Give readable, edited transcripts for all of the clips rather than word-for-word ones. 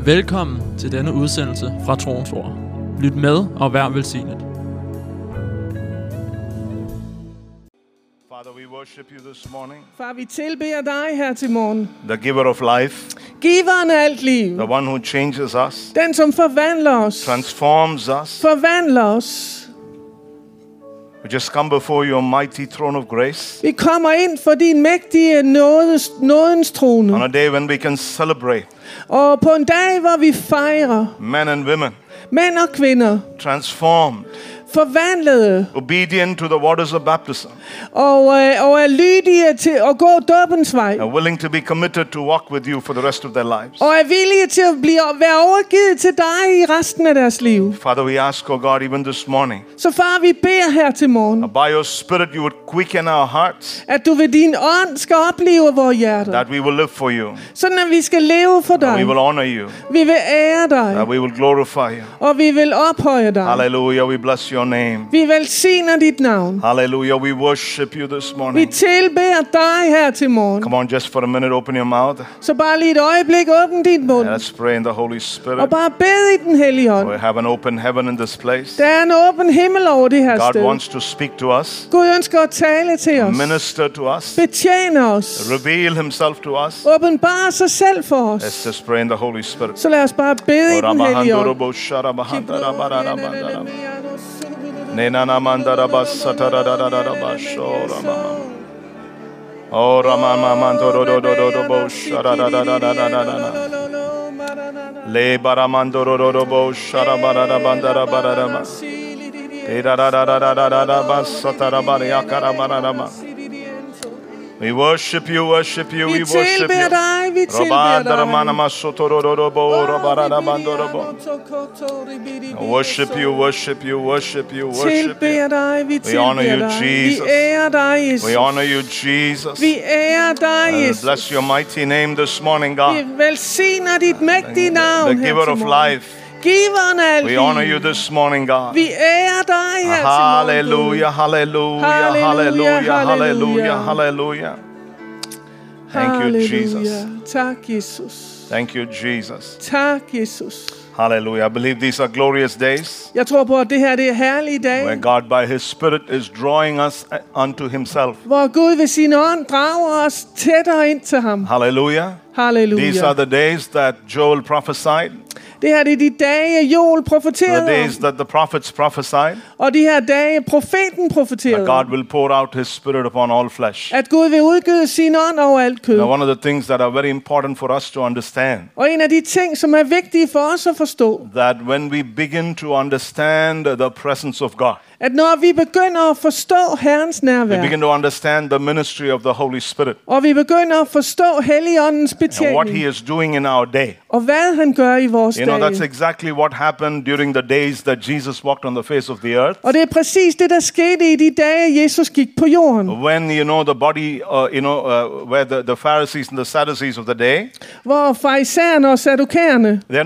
Velkommen til denne udsendelse fra Troens Ord. Lyt med og vær velsignet. Father, we worship you this morning. Far, vi tilbeder dig her til morgen. The giver of life, Giveren af alt liv. the one who changes us, Den, som forvandler os. transforms us. Forvandler os. We just come before your mighty throne of grace Vi kommer ind for din mægtige nådens trone. on a day when we can celebrate Og på en dag, hvor vi fejrer men and women mænd og kvinder, transformed, forvandlede obedient to the waters of baptism, og er lydige til at gå dåbens vej. are willing to be committed to walk with you for the rest of their lives. Og er villige til at være overgivet til dig i resten af deres liv. Father, we ask, oh God, even this morning, Så far, vi beder her til morgen, by your Spirit you would quicken our hearts, at du ved din ånd skal opleve vores hjerter. that we will live for you, Sådan at vi skal leve for that we dig. will honor you, Vi vil ære that dig. we will glorify you. Og vi vil ophøje dig. Hallelujah, we bless your name. Vi velsigner dit navn. Hallelujah, we worship you this Vi morning. tilbeder dig her til morgen. Come on, just for a minute, open your mouth. Så bare lige et øjeblik, åbn din mund. Let's pray in the Holy Og Spirit. bare bed i den hellige ånd. We have an open heaven in this place. Der er en åben himmel over det her God sted. wants to speak to us, Gud ønsker at tale til os. minister to us, Betjene os. reveal himself to us. Åbenbare sig selv for Let's os. just pray in the Holy Spirit. Så lad os bare bede i den hellige ånd. Le baramandoro robo sharabara bandara barama. We worship you, worship you, we Vi worship tilbeder you. dig, vi tilbeder dig. Worship you, worship you, worship you, worship you. Tilbeder dig, vi We honor tilbeder you, dig. Vi Jesus. ærer dig, Jesus. We honor you, Jesus. Vi ærer dig, And Jesus. bless your mighty name this morning, Vi God. velsigner dit mægtige navn The her giver til of morgen. life. Giveren af alt We honor liv. you this morning, God. Vi ærer dig her til morgen. Hallelujah, hallelujah, Halleluja, hallelujah, halleluja. hallelujah, hallelujah. Thank you, Halleluja. Jesus. Tak, Jesus. Thank you, Jesus. Tak, Jesus. Hallelujah. I believe these are glorious days Jeg tror på, at det her det er herlige where dage, God by His Spirit is drawing us unto Himself. hvor Gud ved sin ånd drager os tættere ind til ham. Hallelujah. These Halleluja. are the days that Joel prophesied, Det her det er de dage, Joel the profeterede days om. that the prophets prophesied, Og de her dage, profeten that profeterede God om. will pour out His Spirit upon all flesh. At Gud vil udgyde sin ånd over alt kød. Now, one of the things that are very important for us to understand, Og en af de ting, som er vigtige for os at forstå, that when we begin to understand the presence of God, at når vi begynder at forstå Herrens we nærvær, begin to understand the ministry of the Holy Spirit og vi begynder at forstå Helligåndens and what He betjening, is doing in our day. og hvad han gør i vores You know, that's dage. exactly what happened during the days that Jesus walked on the face of the earth. Og det er præcis det, der skete i de dage, Jesus gik på jorden. When, you know, the body, where the Pharisees and the Sadducees of the day, Hvor farisæerne og sadukæerne, they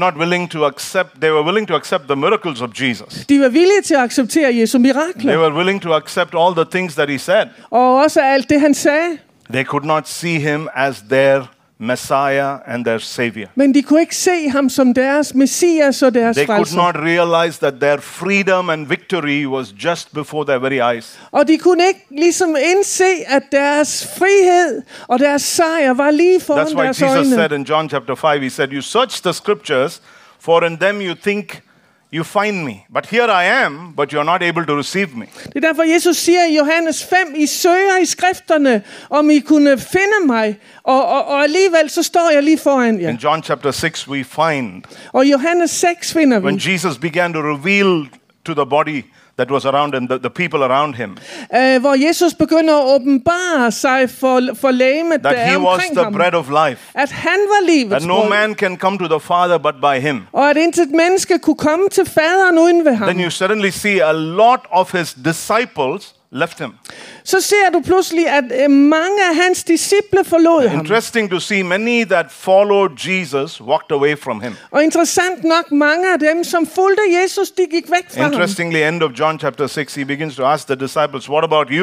were willing to accept the miracles of Jesus. de var villige til at acceptere Jesu They mirakler. were willing to accept all the things that He said. Og også alt det, han sagde. They could not see Him as their Messiah and their Savior. Men de kunne ikke se ham som deres messias og deres They could frelser. not realize that their freedom and victory was just before their very eyes. Og de kunne ikke ligesom indse, at deres frihed og deres sejr var lige foran That's why deres Jesus øjne. said in John chapter 5, He said, "You search the scriptures, for in them you think you find me. But here I am, but you're not able to receive me." Det er derfor, Jesus siger i Johannes 5, I søger i skrifterne, om I kunne finde mig, og alligevel så står jeg lige foran jer. In John chapter 6, we find Og i Johannes 6 finder when vi, Jesus began to reveal to the body that was around him, the people around him, hvor Jesus begynder at åbenbare sig for lægemet, der that er He was omkring the ham. bread of life, At han var livets that no brød, man can come to the Father but by Him. og at intet menneske kunne komme til faderen uden ved ham. Then you suddenly see a lot of His disciples left Him. Så ser du pludselig, at mange af hans disciple forlod ham. Interesting to see many that followed Jesus walked away from Him. Og interessant nok, mange af dem, som fulgte Jesus, de gik væk fra ham. Interestingly, end of John chapter 6, He begins to ask the disciples, "What about you?"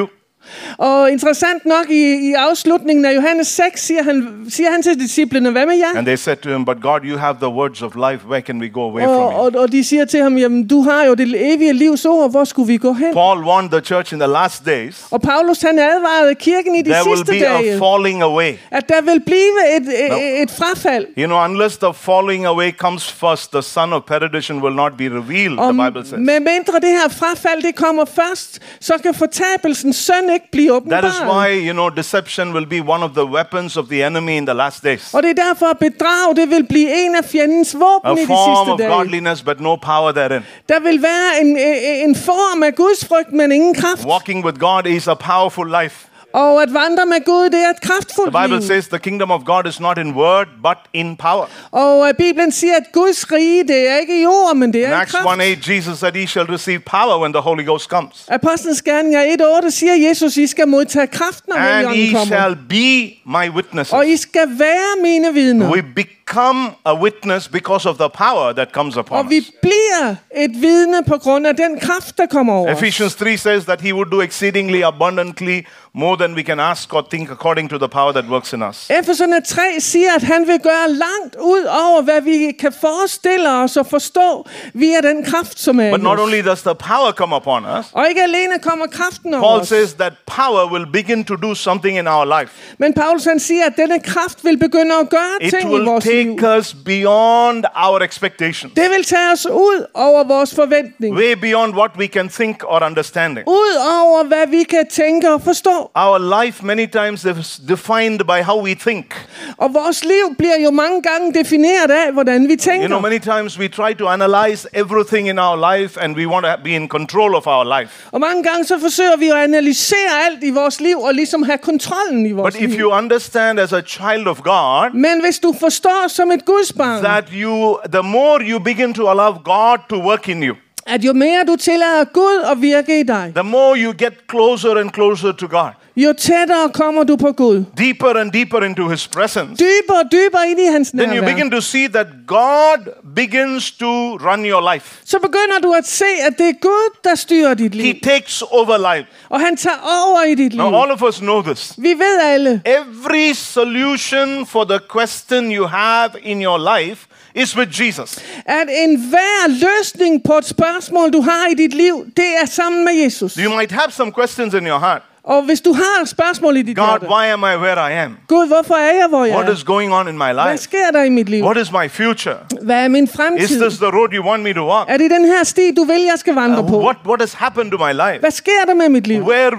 Og interessant nok i afslutningen af Johannes 6 siger han til disciplene, hvad med jer? And they said to him, but God, you have the words of life. Where can we go away from you? Og de siger til ham, jamen du har jo det evige livs ord, hvor skulle vi gå hen? Paul warned the church in the last days, Og Paulus han advarede kirken i de there will sidste be a dage, falling away. at der vil blive et frafald. You know, unless the falling away comes first, the son of perdition will not be revealed, Og the Bible says. med mindre det her frafald, det kommer først, så kan fortabelsens søn ikke blive That is åbenbaret. why, you know, deception will be one of the weapons of the enemy in the last days. Og det er derfor, at bedrag, det vil blive en af fjendens A våben i de form of sidste dage. godliness, but no power therein. Der vil være en form af Guds frygt, men ingen kraft. Walking with God is a powerful life. Og at vandre med Gud, det er et kraftfuldt The Bible liv. says the kingdom of God is not in word, but in power. Og Bibelen siger, at Guds rige, det er ikke i ord, men det In er i Acts kraft. 1:8, Jesus said, "He shall receive power when the Holy Ghost comes, Apostlenes Gerninger 1:8 siger Jesus, I skal modtage kraft, når and Helligånden ye kommer. shall be my witnesses." Og I skal være mine vidner. We become a witness because of the power that comes upon Og vi us. bliver et vidne på grund af den kraft, der kommer over os. Ephesians 3 says that he would do exceedingly abundantly more than we can ask or think according to the power that works in us. Efeserne 3 siger, at han vil gøre langt ud over, hvad vi kan forestille os og forstå via den kraft, som er But i not os. only does the power come upon us, Og ikke alene kommer kraften over Paul os. says that power will begin to do something in our life. Men Paulus han siger, at denne kraft vil begynde at gøre It ting i will vores liv. take us beyond our expectations, Det vil tage os ud over vores forventning. way beyond what we can think or understanding. Ud over, hvad vi kan tænke og forstå. Our life many times is defined by how we think. Og vores liv bliver jo mange gange defineret af, hvordan vi You know, tænker. many times we try to analyze everything in our life and we want to be in control of our life. Og mange gange så forsøger vi at analysere alt i vores liv og ligesom have kontrollen i vores But if liv. you understand as a child of God Men hvis du forstår som et Guds barn, that the more you begin to allow God to work in you, at jo mere du tillader Gud at virke i dig, the more you get closer and closer to God, jo tættere kommer du på Gud. deeper and deeper into His presence, Dybere og dybere ind i hans then you nærvær. begin to see that God begins to run your life. Så begynder du at se, at det er Gud, der styrer dit liv. He takes over life. Og han tager over i dit liv. Now all of us know this. Vi ved alle, Every solution for the question you have in your life is with Jesus. at enhver løsning på et spørgsmål, du har i dit liv, det er sammen med Jesus. You might have some questions in your heart. Og hvis du har spørgsmål i dit God, hjerte, why am I where I am? Gud, hvorfor er jeg, hvor jeg What er? is going on in my Hvad life? sker der i mit liv? What is my future? Hvad er min Is fremtid? this the road you want me to walk? Er det den her sti, du vil, jeg skal vandre på? What has happened to my life? Hvad sker der med mit liv?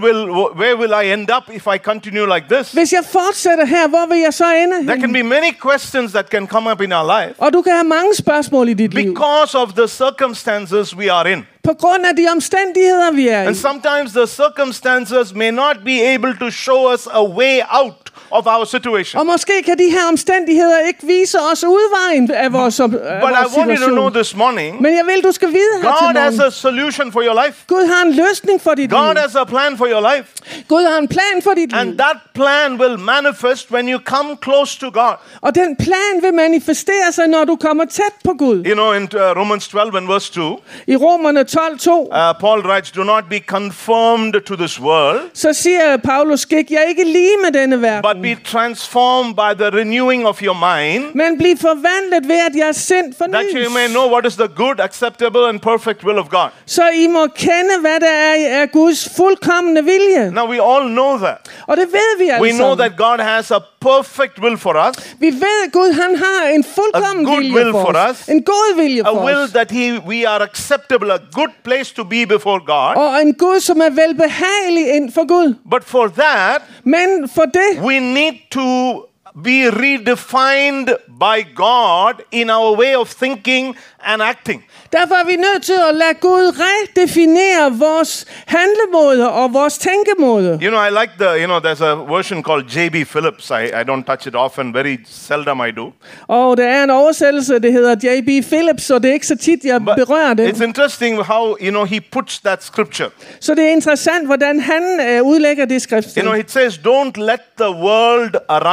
Where will I end up if I continue like this? Hvis jeg fortsætter her, hvor vil jeg så ende There can hen? be many questions that can come up in our life Og du kan have mange spørgsmål i dit liv. because of the circumstances we are in. På grund af de omstændigheder, vi er i. And sometimes the circumstances may not be able to show us a way out of our situation. Og måske kan de her omstændigheder ikke vise os udvejen af vores, But I want you to know situation. this morning, Men jeg vil, du skal vide her til God has morgen. a solution for your life. Gud har en løsning for dit God liv. has a plan for your life. Gud har en plan for dit liv. And that plan will manifest when you come close to God. Og den plan vil manifestere sig, når du kommer tæt på Gud. You know, in Romans 12 and verse 2, I Romerne 12:2, Paul writes, "Do not be conformed to this world, så siger Paulus, skik jeg ikke lige med denne but verden, be transformed by the renewing of your mind, men bliv forvandlet ved, at jeres sind that you may fornyes, know what is the good, acceptable, and perfect will of God." så I må kende, hvad der er Guds fuldkomne vilje. Now we all know that. Og det ved vi We alle know sammen. that God has a perfect will for us, Vi ved, at Gud han har en fuldkommen A good vilje will for for os. us. En god vilje a for will os. that we are acceptable, a good place to be before God. Og en Gud, som er velbehagelig ind for Gud. But for that, Men for det, we need to be redefined by God in our way of thinking and acting. derfor er vi nødt til at lade Gud redefinere vores handlemåder og vores tænkemåder. You know, I like there's a version called J.B. Phillips. I don't touch it often, very seldom I do. Og der er en oversættelse, det hedder J.B. Phillips, og det er ikke så tit, jeg But berører det. it's interesting how, he puts that scripture. Så det er interessant, hvordan han udlægger det skrift. It says, "Don't let the world around you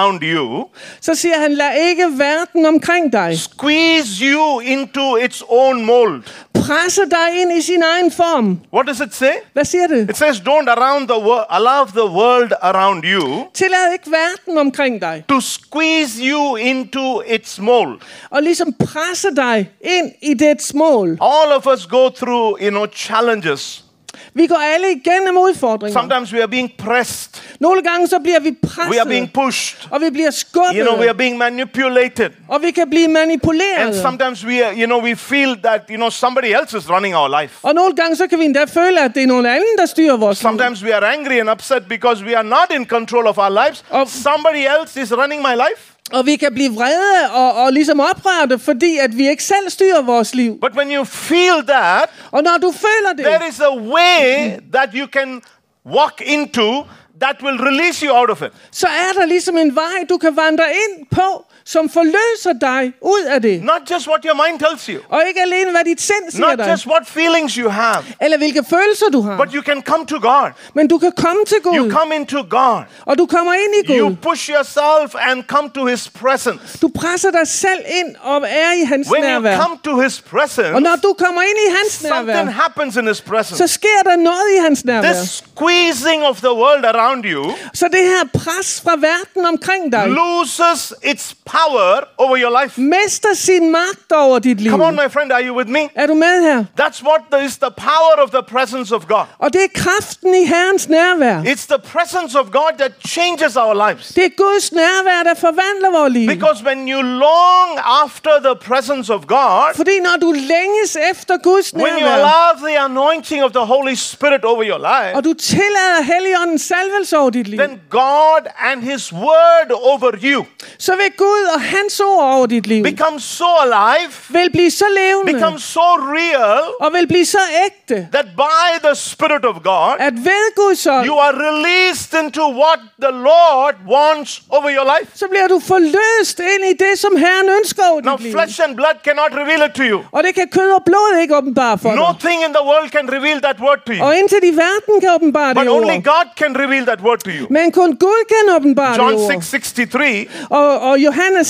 you så siger han, lad ikke verden omkring dig squeeze you into its own mold. presse dig ind i sin egen form. What does it say? Hvad siger det? It says, don't allow the world around you Tillad ikke verden omkring dig to squeeze you into its mold. og ligesom presse dig ind i dets mål. All of us go through, challenges. Vi går alle igennem udfordringer. Sometimes we are being pressed. Nogle gange så bliver vi We are presset, being pushed. og vi bliver skubbet, We are being manipulated. og vi kan blive And manipuleret. sometimes we feel that, somebody else is running our life. Og nogle gange så kan vi endda føle, at det er nogen anden, der styrer vores liv. Sometimes we are angry and upset because we are not in control of our lives. Somebody else is running my life. Og vi kan blive vrede og ligesom oprørte, fordi at vi ikke selv styrer vores liv. But when you feel that, Og når du føler det, there is a way that you can walk into that will release you out of it. så er der ligesom en vej, du kan vandre ind på, som forløser dig ud af det. Not just what your mind tells you. Og ikke alene, hvad dit sind siger Not dig, just what feelings you have. eller hvilke følelser du har. But you can come to God. Men du kan komme til You Gud, come into God. og du kommer ind i You Gud. push yourself and come to His presence. Du presser dig selv ind og er i hans When you nærvær. come to His presence, Og når du kommer ind i hans something nærvær, happens in His presence. så sker der noget i hans nærvær. This squeezing of the world around you Så det her pres fra verden omkring dig loses its power over your life. mister sin magt over dit liv. Come on, my friend, are you with me? Er du med her? That's what is the power of the presence of God. Og det er kraften i Herrens nærvær. It's the presence of God that changes our lives. Det er Guds nærvær, der forvandler vores liv. Because when you long after the presence of God, Fordi når du længes efter Guds when you nærvær, allow the anointing of the Holy Spirit over your life, og du tillader Helligåndens salvelse over dit liv, then God and His Word over you så vil Gud og hans ord over dit liv become so alive, vil blive så levende become so real, og vil blive så ægte, that by the Spirit of God, at ved Guds ånd, you are released into what the Lord wants over your life. så bliver du forløst ind i det, som Herren ønsker over Now, dit liv. flesh and blood cannot reveal it to you. Og det kan kød og blod ikke åbenbare for dig. Nothing in the world can reveal that word to you. Og indtil de verden kan åbenbare But det only ord. God can reveal that word to you. Men kun Gud kan åbenbare John det ord. 6:63, Og Johannes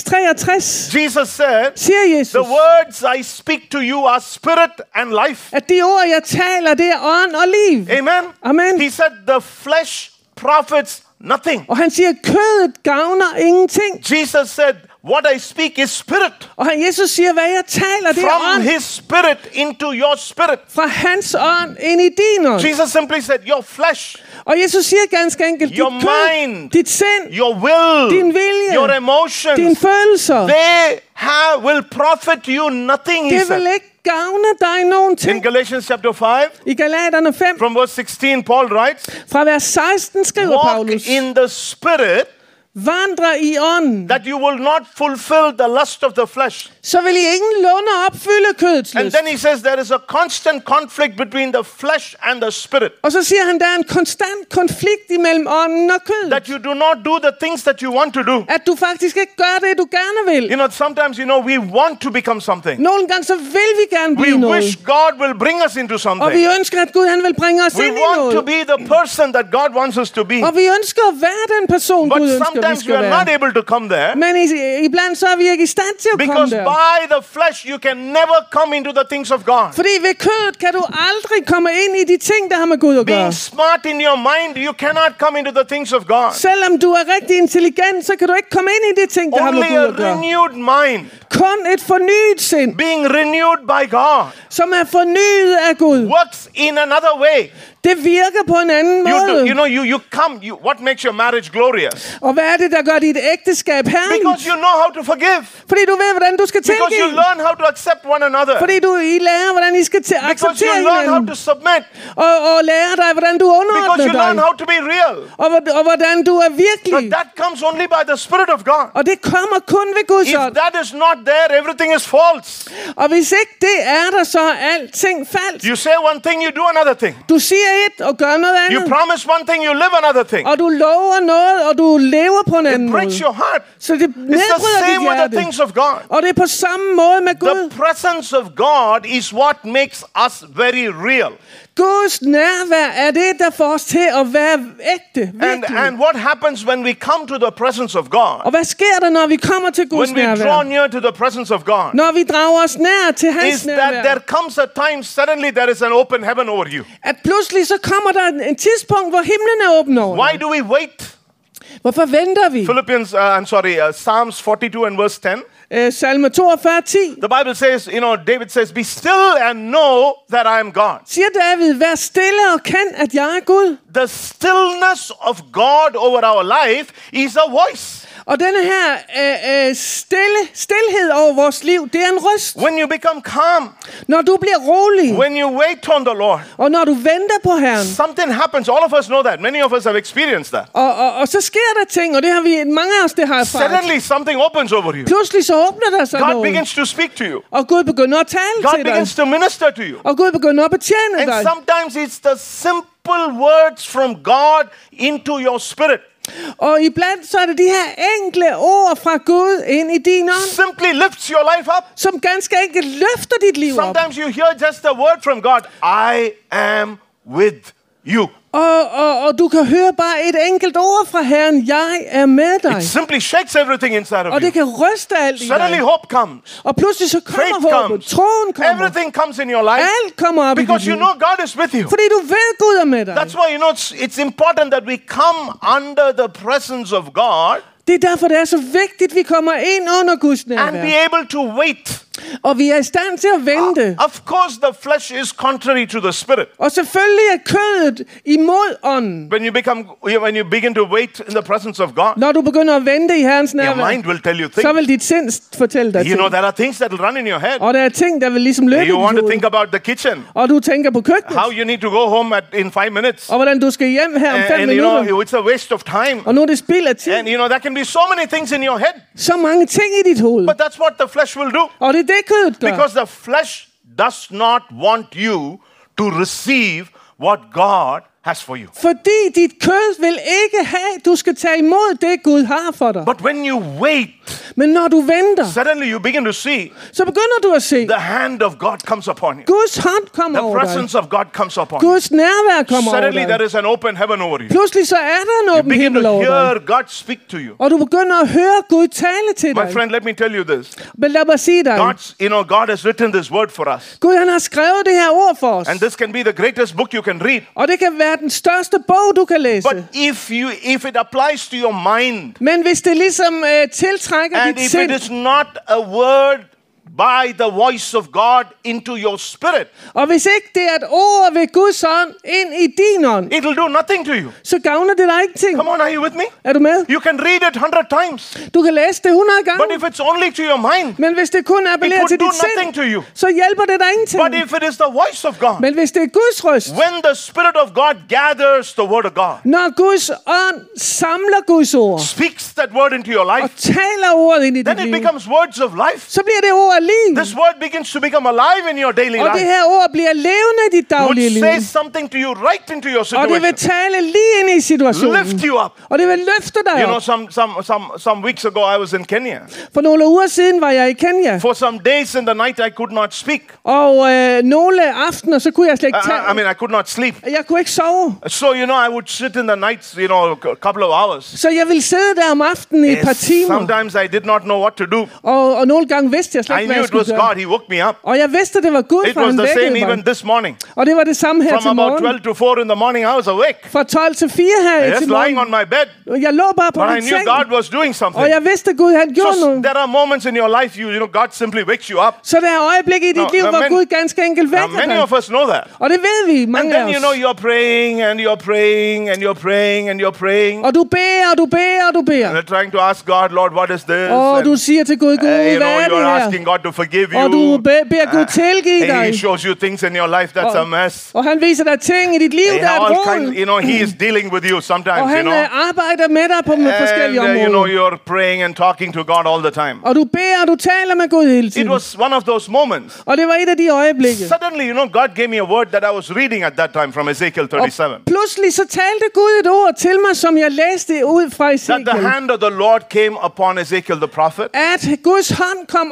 6:63 Jesus said, siger Jesus, the words I speak to you are spirit and life. at de ord, jeg taler, det er ånd og liv. Amen. Amen. He said the flesh profits nothing. Og han siger, kødet gavner ingenting. Jesus said, what I speak is spirit. Og Jesus siger, hvad jeg taler, det er From ånd. His spirit into your spirit. Fra hans ånd ind i din ånd. Jesus simply said, your flesh, Og Jesus siger ganske enkelt, dit Your kød, mind. dit sind, your will, din vilje, your emotions, dine følelser, they will profit you nothing, he det vil said. ikke gavne dig nogen In ting. Galatians chapter 5, I Galaterne 5, from verse 16, Paul writes, fra vers 16 skriver walk Paulus, in the spirit, vandre i ånden, that you will not fulfill the lust of the flesh. så vil I ingenlunde opfylde kødets And lyst. then he says there is a constant conflict between the flesh and the spirit. Og så siger han, der er en konstant konflikt imellem ånden og kødet. That you do not do the things that you want to do. At du faktisk ikke gør det, du gerne vil. Sometimes, we want to become something. Nogle gange så vil vi gerne We blive noget. wish God will bring us into Og vi something. ønsker, at Gud han vil bringe os We ind i want to noget. be the person that God wants us to be. Og vi ønsker at være den person, But Gud ønsker, vi sometimes we skal are not være. able to come there. Men iblandt så er vi ikke i stand til at komme Because der. by the flesh you can never come into the things of God. Fordi ved kødet kan du aldrig komme ind i de ting, der har med Gud at gøre. Being smart in your mind, you cannot come into the things of God. Selvom du er rigtig intelligent, så kan du ikke komme ind i de ting, der har med Only Gud a at gøre. renewed mind, Kun et fornyet sind, being renewed by God, som er fornyet af Gud. works in another way. Det virker på en anden måde. You come. What makes your marriage glorious? Og hvad er det, der gør dit ægteskab Because herligt? you know how to forgive. Fordi du ved, hvordan du skal Because you tilgive. learn how to accept one another. Fordi I lærer, hvordan I skal Because you acceptere learn how hinanden. to submit. Og lærer dig, hvordan du Because underordner you learn dig. how to be real. Og hvordan du er But virkelig. that comes only by the Spirit of God. Og det kommer kun ved Guds If ånd. that is not there, everything is false. Og hvis ikke det er der, så er alting falsk. You say one thing, you do another thing. Du siger et og gør noget You andet. promise one thing, you live another thing. Og du lover noget, og du lever på en anden It breaks måde. your heart. Så det It's the nedbryder same dit with the hjerte. things of God. Og det er på samme måde med The Gud. presence of God is what makes us very real. Guds nærvær er det, der får os til at være ægte, virkelig. And what happens when we come to the presence of God? Og hvad sker der, når vi kommer til Guds When we draw nærvær? near to the presence of God, Når vi drager os nær til hans is that nærvær. there comes a time suddenly there is an open heaven over you. At pludselig så kommer der en tidspunkt, hvor himlen er åben over. Why do we wait? Hvorfor venter vi? Psalms 42 and verse 10. Salme 42, 10. The Bible says, David says, be still and know that I am God. Siger David, vær stille og kend, at jeg er Gud. The stillness of God over our life is a voice. Og denne her stilhed over vores liv, det er en røst. When you become calm, Når du bliver rolig, when you wait on the Lord, og når du venter på Herren, something happens. All of us know that. Many of us have experienced that. og så sker der ting, og det har vi, mange af os, det har erfaret. Suddenly something opens over you. Pludselig så åbner der sig God noget, begins to speak to you. og Gud begynder at tale God til dig, begins to minister to you. og Gud begynder at betjene And dig. sometimes it's the simple words from God into your spirit. Og iblandt så er det de her enkle ord fra Gud ind i din ånd, Simply lifts your life up. som ganske enkelt løfter dit liv op. Sometimes you hear just a word from God. I am with you. Og du kan høre bare et enkelt ord fra Herren. Jeg er med dig. It simply shakes everything inside of Og det you. kan ryste alt i Suddenly dig. hope comes. Og pludselig så Faith kommer håbet. comes. Troen kommer. Everything comes in your life Alt kommer op i because dit you liv. know God is with you. Fordi du ved, Gud er med dig. That's why it's important that we come under the presence of God Det er derfor, det er så vigtigt, at vi kommer ind under Guds and nærvær. be able to wait. Og vi er i stand til at vente. Of course, the flesh is contrary to the spirit. Og selvfølgelig er kødet imod ånden. When you begin to wait in the presence of God, Når du begynder at vente i Herrens your nærvær, mind will tell you så things. vil dit sind fortælle dig You ting. know, there are things that will run in your head. Og der er ting, der vil ligesom løbe i You want dit to think hoved. about the kitchen, Og du tænker på køkkenet. how you need to go home in 5 minutes. Og hvordan du skal hjem her om 5 And you minutter. know, it's a waste of time. Og nu er det spild af tid. And you know, there can be so many things in your head. Så mange ting i dit hoved. But that's what the flesh will do. Og det er det, kødet gør. Because the flesh does not want you to receive what God has for you. Fordi dit kød vil ikke have, du skal tage imod det, Gud har for dig. But when you wait, Men når du venter, suddenly you begin to see så begynder du at se, the hand of God comes upon you. Guds hånd kommer The over dig. presence of God comes upon you. Guds nærvær kommer over Suddenly there dig. is an open heaven over you. Pludselig så er der en You åben begin himmel to over dig. hear God speak to you. Og du begynder at høre Gud tale til My dig. friend, let me tell you this. Men lad mig sige dig, God has written this word for us. Gud han har skrevet det her ord for os. And this can be the greatest book you can read. Og det kan være den største bog, du kan læse. But if it applies to your mind, Men hvis det ligesom tiltrækker and dit if sind, it is not a word by the voice of God into your spirit, og hvis ikke det er et ord ved Guds ånd ind i din ånd, it will do nothing to you. så gavner det dig ingenting. Come on, are you with me? Er du med? You can read it 100 times. Du kan læse det 100 gange. But if it's only to your mind, Men hvis det kun it appellerer til would do dit nothing sind, to you. så hjælper det dig ingenting. But if it is the voice of God, Men hvis det er Guds røst, when the Spirit of God gathers the word of God, når Guds ånd samler Guds ord speaks that word into your og life, taler ordet ind i then dit it liv, becomes words of life. så bliver det ord af liv. This word begins to become alive in your daily Og det life. her ord bliver levende i dit daglige Would liv. say something to you right into your Og det vil situation. tale lige ind i situationen. Lift you up. Og det vil løfte dig You know, op. some weeks ago I was in Kenya. For nogle uger siden var jeg i Kenya. For some days in the night I could not speak. Og nogle aftener, så kunne jeg slet ikke I mean, I could not sleep. Jeg kunne ikke sove. So, you know, I would sit in the nights, you know, a couple of hours. Så jeg ville sidde der om aftenen i et par timer. Sometimes I did not know what to do. Og nogle gange vidste jeg slet I ikke, hvad knew jeg it was skulle gøre. God. He woke me up. Og jeg vidste, det var Gud, It for was han the same vækkede even mig. this morning. Og det var det samme her From til about morgen. 12 to 4 in the morning, I was awake. Fra 12 til 4 her Just til lying on morgen. my bed. Jeg lå bare på But I min knew seng. God was doing Og something. jeg vidste, Gud han gjorde So noget. there are moments in your life, you know, God simply wakes you up. Så der er øjeblikke i dit liv, hvor Gud ganske enkelt Now, vækker many dig. of us know that. Og det ved vi, And mange af then, you os. know, you're praying and you're praying and you're praying and you're praying. Og du beder, og du beder, og du And beder. you're trying to ask God, Lord, what is this? Og And, du siger til Gud, Gud, you hvad know, er det you're her? asking God to forgive you. Og du beder Gud tilgive And He dig. shows you things in your life that's a mess. Og han viser dig ting i dit liv, der er et råd. You know, He is dealing with you Og sometimes, you han know. arbejder med dig på forskellige And, you know, områder. you're praying and talking to God all the time. Og du beder, og du taler med Gud hele It tiden. was one of those moments. Og det var et af de øjeblikke. Suddenly, you know, God gave me a word that I was reading at that time from Ezekiel 37. Og pludselig så talte Gud et ord til mig, som jeg læste ud fra That the Ezekiel. hand of the Lord came upon Ezekiel the prophet. At Guds hånd kom over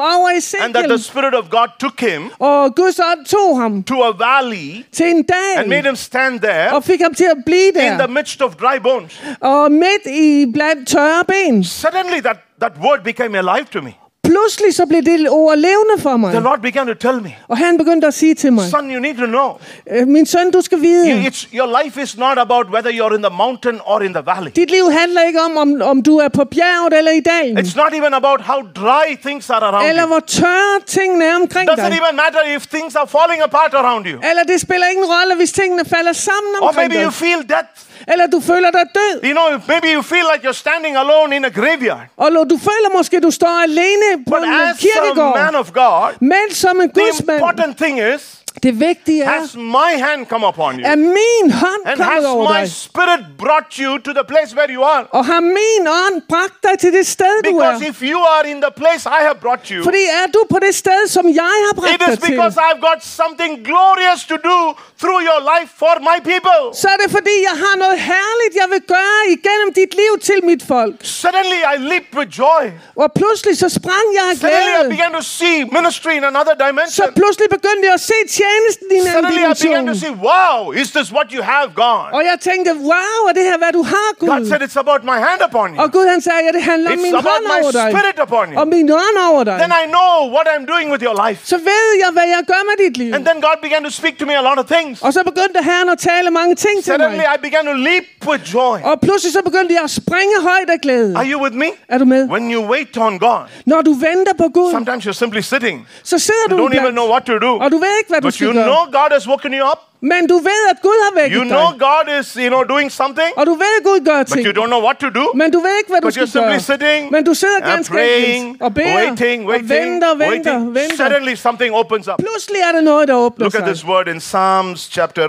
and that the Ezekiel, Spirit of God took him og Guds ånd tog ham to a valley til en and made dal, him stand there og fik ham til at blive in the der, midst of dry bones. og midt i blandt tørre ben. Suddenly that word became alive to me. Pludselig så blev det ord levende for mig, The Lord began to tell me, og han begyndte at sige til mig, son, you need to know, min søn, du skal vide, your life is not about whether you're in the mountain or in the valley. dit liv handler ikke om du er på bjerget eller i dalen, It's not even about how dry things are around eller you. hvor tørre tingene er omkring Doesn't dig. even matter if things are falling apart around you. Eller det spiller ingen rolle, hvis tingene falder sammen Or omkring maybe you dig. feel death. Eller du føler dig død. You know, maybe you feel like you're standing alone in a graveyard. Og du føler måske, du står alene på But en as a kirkegård. man of God, Men som en the gudsmand, important thing is, det vigtige er, has my hand come upon you? er min hånd And kommet has over my dig. spirit brought you to the place where you are? Og har min ånd bragt dig til det sted, du er. Because if you are in the place I have brought you, Fordi er du på det sted, som jeg har it bragt is dig til, because I've got something glorious to do through your life for my people. så er det fordi, jeg har noget herligt, jeg vil gøre igennem dit liv til mit folk. Suddenly I leaped with joy. Og pludselig så sprang jeg af Suddenly I glæde. began to see ministry in another Så dimension. pludselig begyndte jeg at se tjenesten i en anden Suddenly I began to dimension. see, wow, is this what you have, God? Og jeg tænkte, wow, er det her, hvad du har, God Gud? said, it's about my hand upon you. Og Gud han sagde, ja, det handler om It's min about hånd my over dig. spirit upon Og you. min ånd over dig. Then I know what I'm doing with your life. Så ved jeg, hvad jeg gør med dit liv. And then God began to speak to me a lot of things. Og så begyndte Herren at tale mange ting til Suddenly mig. I began to leap with joy. Og pludselig så begyndte jeg at springe højt af glæde. Are you with me? Er du med? When you wait on God, Når du venter på Gud, sometimes you're simply sitting. så sidder You du don't even iblandt, know what to do. og du ved ikke, hvad du But you skal know gøre. God has woken you up. Men du ved, at Gud har You vækket know dig. God is, doing something. Og du ved, at Gud gør But ting. you don't know what to do. Men du ved ikke, hvad du But skal you're simply gøre. sitting Men du sidder and ganske praying, enkelt og beder, waiting. og venter. Suddenly something opens up. Pludselig er der noget, der åbner Look at sig. this word in Psalms chapter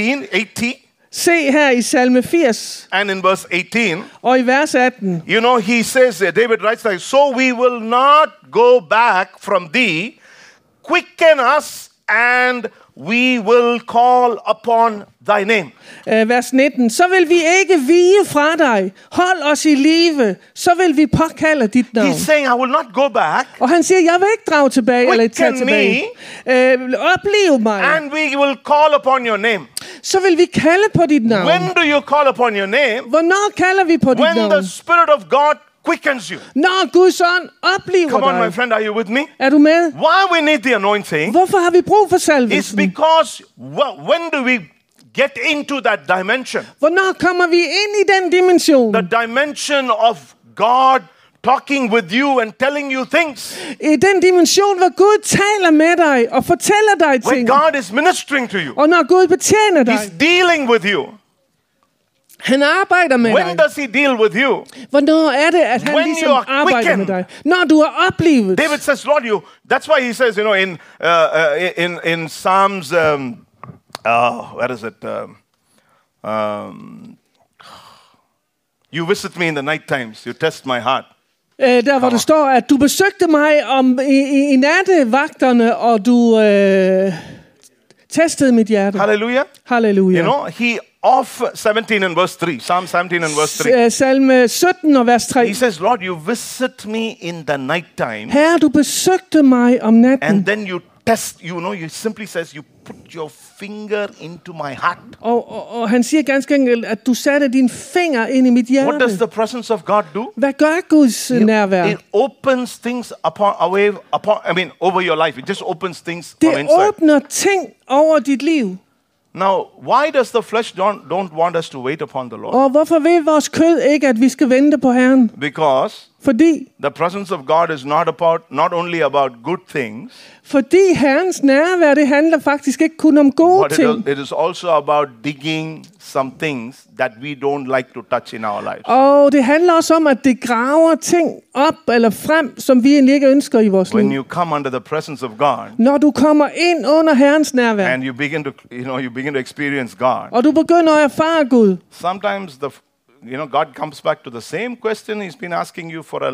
80. Se her i salme 80 And in verse 18, og i vers 18. you know, he says, David writes like, so we will not go back from thee, quicken us and we will call upon thy name. Vers 19. Så vil vi ikke vige fra dig. Hold os i live. Så vil vi påkalde dit navn. He's saying, I will not go back, Og han siger, jeg vil ikke drage tilbage eller tage Quicken tilbage. Opliv mig. and we will call upon your name. Så vil vi kalde på dit navn. When do you call upon your name? Hvornår kalder vi på dit When navn? the Spirit of God quickens you. Når Guds ånd opliver Come on, my dig. friend, are you with me? Er du med? Why we need the anointing Hvorfor har vi brug for is salvelsen? because when do we get into that dimension? Hvornår kommer vi ind i den dimension? The dimension of God talking with you and telling you things. I den dimension, hvor Gud taler med dig og fortæller dig When ting. God is ministering to you. Og når Gud betjener dig. He's dealing with you. Han arbejder med When dig. does he deal with you? Hvornår er det, at han When ligesom you are arbejder quickened. med dig? Når du er oplevet. David says, Lord, that's why he says, in Psalms, where is it? You visit me in the night times. You test my heart. Der hvor der står, at du besøgte mig i nattevagterne, og du testede mit hjerte. Hallelujah. Halleluja. You know, he off 17 and verse 3. Psalm 17 and verse 3. Salme 17 og vers 3. He says, Lord, you visit me in the night time. Herre, du besøgte mig om natten. And then you test, you simply says, you put your finger into my heart. Og han siger ganske enkelt, at du satte din finger ind i mit hjerte. What does the presence of God do? Hvad gør Guds nærvær? It opens things over your life. It just opens things from Det inside. åbner ting over dit liv. Now, why does the flesh don't want us to wait upon the Lord? Og hvorfor vil vores kød ikke, at vi skal vente på Herren? Because Fordi the presence of God is not only about good things, Herrens nærvær, det handler faktisk ikke kun om gode but ting. it is also about digging some things that we don't like to touch in our lives. Og det handler også om, at det graver ting op eller frem, som vi egentlig ikke ønsker i vores When liv. you come under the presence of God Når du kommer ind under Herrens nærvær, and you begin to experience God, og du begynder at erfare Gud, sometimes God comes back to the same question he's been asking you for a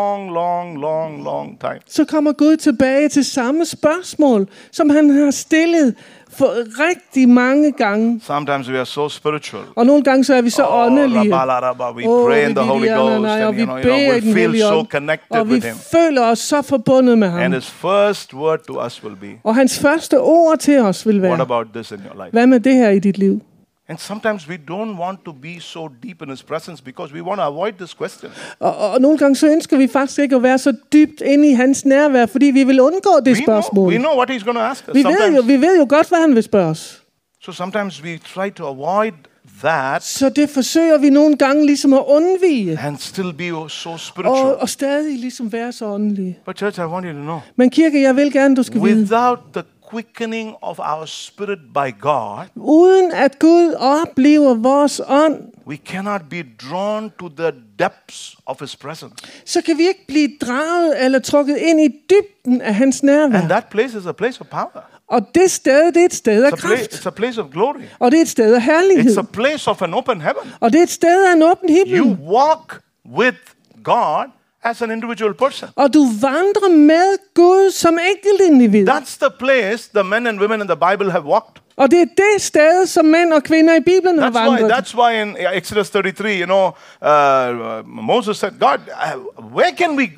long time. Så kommer Gud tilbage til samme spørgsmål, som han har stillet for rigtig mange gange. Sometimes we are so spiritual. Og nogle gange så er vi så åndelige. We pray in the Holy Ghost, and we feel so connected og vi with him. føler os så forbundet med ham. And his first word to us will be, Og hans første ord til os vil what være, about this in your life? hvad med det her i dit liv? And sometimes we don't want to be so deep in his presence because we want to avoid this question. Og nogle gange så ønsker vi faktisk ikke at være så dybt inde i hans nærvær, fordi vi vil undgå det spørgsmål. We know what he's going to ask us. Vi ved jo godt, hvad han vil spørge os. So sometimes we try to avoid that. Så det forsøger vi nogle gange ligesom at undvige. And still be so spiritual. Og stadig ligesom være så åndelige. But church, I want you to know. Men kirke, jeg vil gerne, du skal vide. Without the quickening of our spirit by God, uden at Gud oplever vores ånd, we cannot be drawn to the depths of his presence. Så kan vi ikke blive draget eller trukket ind i dybden af hans nærvær. And that place is a place of power. Og det sted, det er et sted af kraft. It's a place of glory. Og det er et sted af herlighed. It's a place of an open heaven. Og det er et sted af en åben himmel. You walk with God as an individual person. Og du vandrer med Gud som enkelt individ. That's the place the men and women in the Bible have walked. Og det er det sted, som mænd og kvinder i Bibelen har vandret. That's why in Exodus 33, Moses said, God, where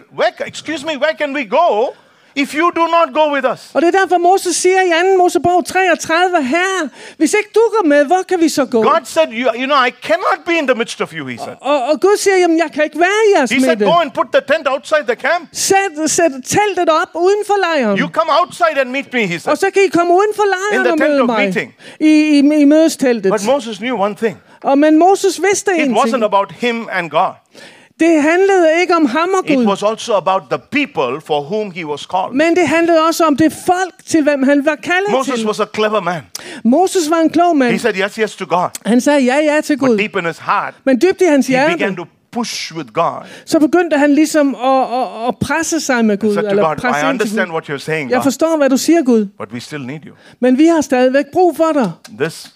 can we go if you do not go with us? Og det er derfor Moses siger i 2. Mosebog 33, Herre, hvis ikke du går med, hvor kan vi så gå? God said, I cannot be in the midst of you, he said. Og Gud siger, jamen jeg kan ikke være i jeres midte. He said, go and put the tent outside the camp. Sæt teltet op uden for lejren. You come outside and meet me, he said. Og så kan I komme uden for lejren og møde mig. Meeting. I mødesteltet. But Moses knew one thing. Men Moses vidste en ting. It wasn't about him and God. Det handlede ikke om ham og Gud. It was also about the people for whom he was called. Men det handlede også om det folk til hvem han var kaldet til. Moses was a clever man. Moses var en klog mand. He said yes to God. Han sagde ja til Gud. But deep in his heart, men dybt i hans hjerte, he began to push with God. Så begyndte han ligesom at presse sig med Gud. Eller presse I understand what you're saying, jeg forstår, hvad du siger, Gud. But we still need you. Men vi har stadigvæk brug for dig. This,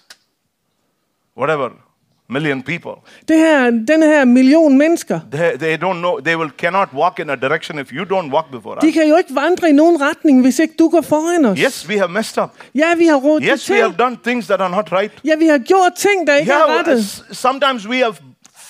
whatever, million people. Den her million mennesker. They don't know. They cannot walk in a direction if you don't walk before us. De kan jo ikke vandre i nogen retning, hvis ikke du går foran os. Yes, we have messed up. Ja, vi har rodet til. Yes, we have done things that are not right. Ja, vi har gjort ting, der ikke er rettet. Sometimes we have,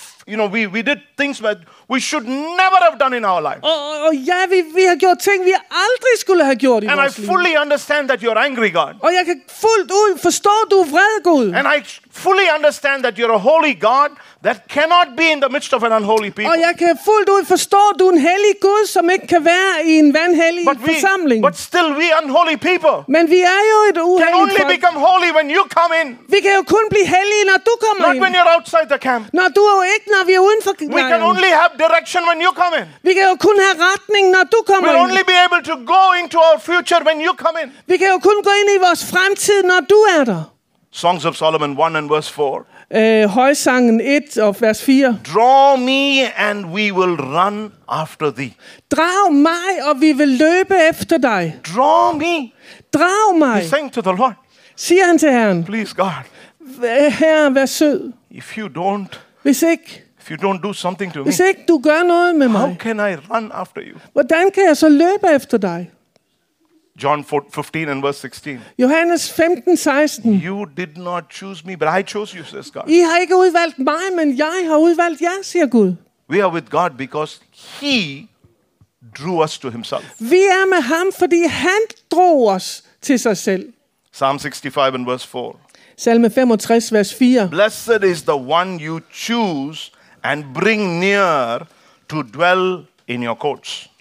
we did things that we should never have done in our lives. Og ja, vi har gjort ting, vi aldrig skulle have gjort i vores liv. And I fully understand that you're angry, God. Og jeg kan fuldt ud forstå, du er vred, Gud. And I fully understand that you're a holy God that cannot be in the midst of an unholy people. Og jeg kan fuldt ud forstå, at du er en hellig Gud, som ikke kan være i en vanhellig forsamling. But still we unholy people. Men vi er jo et uhelligt folk. Can only become holy when you come in. Vi kan jo kun blive hellige, når du kommer ind. Not when you're outside the camp. Når vi er uden for lejren. We can only have direction when you come in. Vi kan jo kun have retning, når du kommer ind. We'll only be able to go into our future when you come in. Vi kan jo kun gå ind i vores fremtid, når du er der. Songs of Solomon 1 and verse 4. Højsangen 1 og vers 4. Draw me and we will run after thee. Drag mig, og vi vil løbe efter dig. Draw me. Drag mig. He's saying to the Lord. Siger han til Herren. Please, God. Herre, vær sød. If you don't. Hvis you don't do something to me. Hvis ikke du gør noget med mig. How can I run after you? Hvordan kan jeg så løbe efter dig? John 15 and verse 16. Johannes 15:16. You did not choose me, but I chose you, says God. I har ikke udvalgt mig, men jeg har udvalgt jer, siger Gud. We are with God because he drew us to himself. Vi er med ham, fordi han drog os til sig selv. Psalm 65 and verse 4. Salme 65 vers 4. Blessed is the one you choose and bring near to dwell in your courts.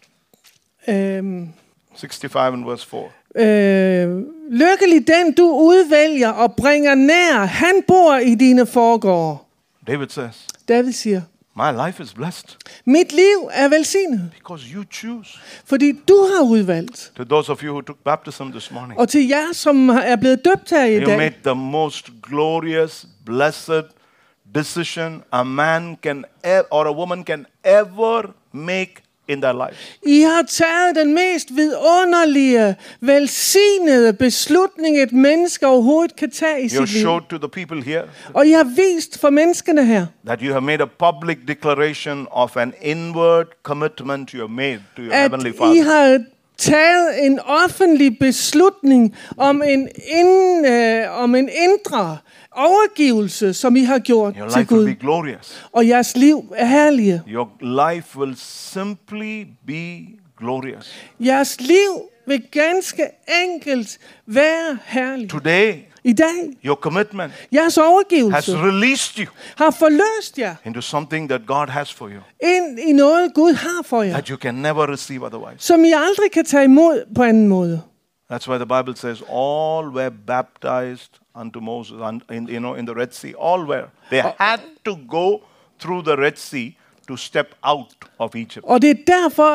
65 and verse 4. Lykkelig den du udvælger og bringer nær, han bor i dine forgårde. David siger, my life is blessed. Mit liv er velsignet. Because you choose. Fordi du har udvalgt. To those of you who took baptism this morning. Og til jer som er blevet døbt her i dag. You made the most glorious, blessed decision a man can or a woman can ever make in their lives. I har taget den mest vidunderlige, velsignede beslutning, et menneske overhovedet kan tage i You sit liv. showed to the people here Og I har vist for menneskene her, that you have made a public declaration of an inward commitment you have made to your at Heavenly I Father. har taget en offentlig beslutning om en indre overgivelse, som I har gjort Your til life will Gud. be glorious. Og jeres liv er herlige. Your life will simply be glorious. Jeres liv vil ganske enkelt være herligt. Today, I dag, your commitment jeres has overgivelse released you har forløst jer into something that God has for you ind i noget, Gud har for jer, that you can never receive otherwise. som I aldrig kan tage imod på anden måde. That's why the Bible says all were baptized unto Moses in the Red Sea. All were. They had to go through the Red Sea to step out of Egypt. Og det er derfor,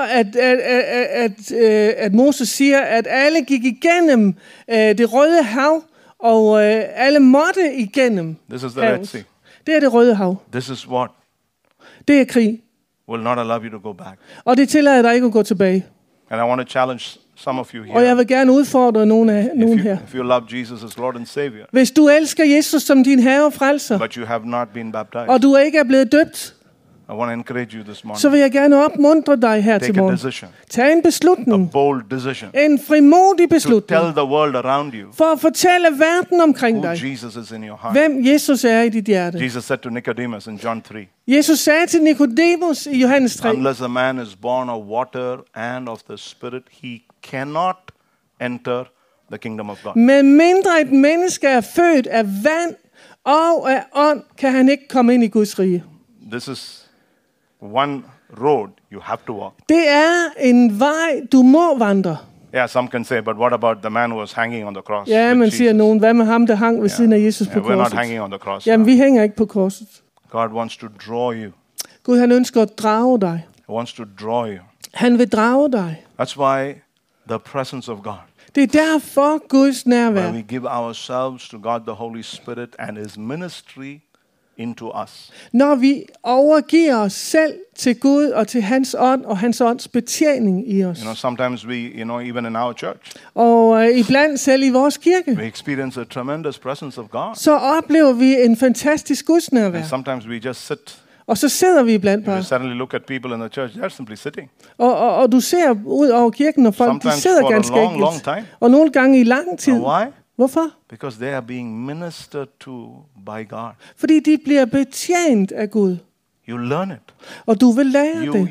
at Moses siger, at alle gik igennem det røde hav, og alle måtte igennem This is the Red havet. Sea. Det er det røde hav. This is what Det er krig. will not allow you to go back. Og det tillader dig ikke at gå tilbage. And I want to challenge some of you Og jeg here. vil gerne udfordre nogen her. If you love Jesus as Lord and Savior, Hvis du elsker Jesus som din herre og frelser, but you have not been baptized, og du ikke er blevet døbt, I want to encourage you this så morning. vil jeg gerne opmuntre dig her til Take a morgen. decision, Tag en a beslutning. bold decision, En frimodig to beslutning. tell the world around you For at fortælle verden omkring who dig, Jesus is in your heart. hvem Jesus er i dit hjerte. Jesus said to Nicodemus in John 3, Jesus sagde til Nikodemus i Johannes 3, unless a man is born of water and of the Spirit, he cannot enter the kingdom of God. med mindre et menneske er født af vand og af ånd, kan han ikke komme ind i Guds rige. This is one road you have to walk. Det er en vej, du må vandre. Yeah, some can say, but what about the man who was hanging on the cross? Ja, with man siger Jesus? nogen, hvad med ham, der hang ved siden af Jesus på Yeah, we're not korset? hanging on the cross. Jamen, vi hænger ikke på korset. God wants to draw you. Gud, han ønsker at drage dig. He wants to draw you. Han vil drage dig. That's why the presence of God, Det er derfor Guds nærvær. where we give ourselves to God, the Holy Spirit, and His ministry into us. Når vi overgiver os selv til Gud og til hans ånd og hans ånds betjening i os. You know, sometimes we, even in our church, Og iblandt selv i vores kirke, we experience a tremendous presence of God. så oplever vi en fantastisk Guds nærvær. And sometimes we just sit. Og så sidder vi iblandt You bare. suddenly look at people in the church, they're simply sitting. Og du ser ud over kirken, og folk de Sometimes sidder for a ganske long, long enkelt. time. Og nogle gange i lang tid. And why? Hvorfor? Because they are being ministered to by God. Fordi de bliver betjent af Gud. You learn it. Og du vil lære det.